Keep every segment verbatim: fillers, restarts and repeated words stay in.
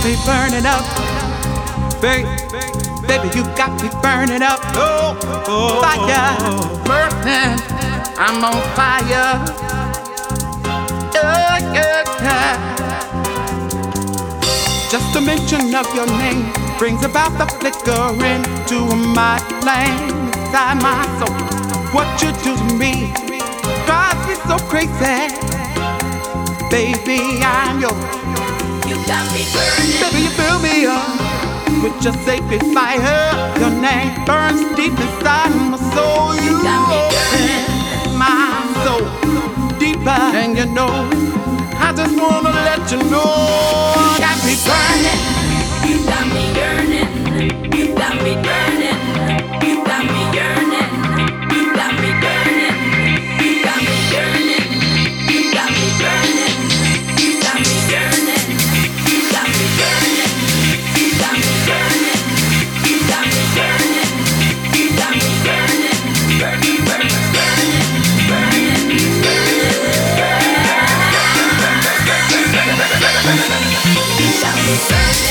me burning up, baby. Baby, you got me burning up. Oh, oh, fire, burning. I'm on fire. Yeah, yeah, yeah. Just the mention of your name brings about the flickering to my flame inside my soul. What you do to me drives me so crazy. Baby, I'm yours. You got me burning. Baby, you fill me up with your sacred fire. Your name burns deep inside my soul. You, you got me burning. My soul deeper, and you know I just wanna let you know you got me burning. You got me yearning. You got me burning. You got me yearning. You got me burning. You got me yearning. You got me burning. You got me yearning. You got me burning. You got me burning. You got me burning. You got me burning. Burning, burning, burning, burning, burning. You got me burning.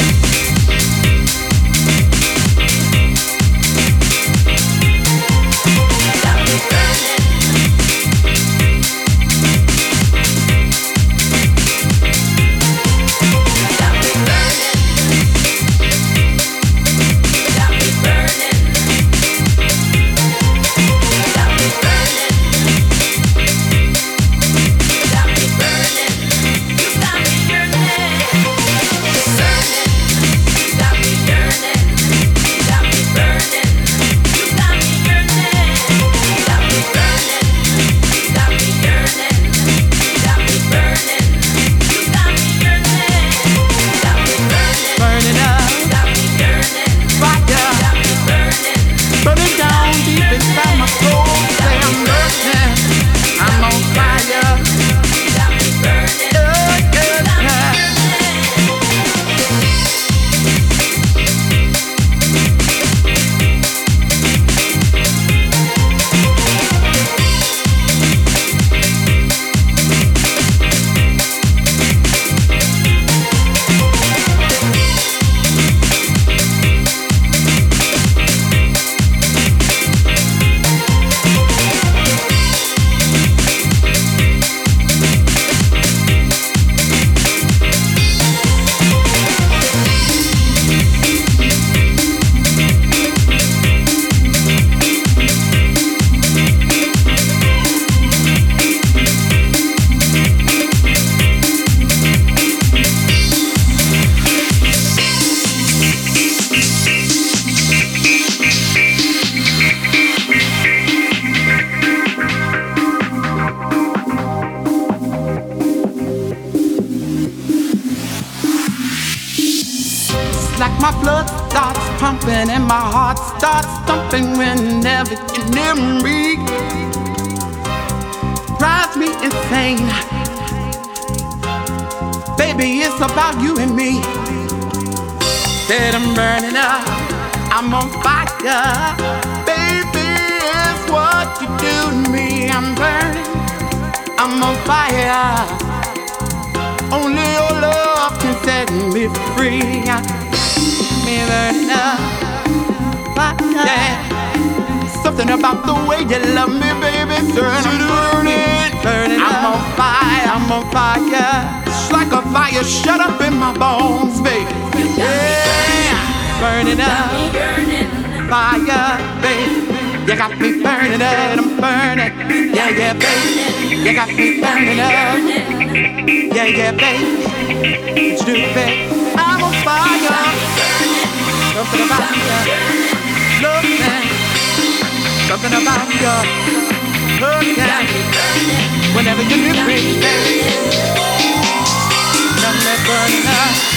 Like my blood starts pumping and my heart starts thumping whenever you're near me. Drives me insane. Baby, it's about you and me. Said I'm burning up, I'm on fire. Baby, it's what you do to me. I'm burning, I'm on fire. Only your love can set me free. Me burning up, fire. Yeah. Something about the way you love me, baby. Turning, burning, burning up. I'm on fire, I'm on fire. It's like a fire shut up in my bones, baby. Yeah, burning up, fire, baby. You got me burning up, I'm burning. Yeah, yeah, baby. You got me burning up. Yeah, yeah, baby. What you do, baby? I'm on fire. Something about you, looking. Something about you, looking. Whenever you need me, baby. Got me burning up.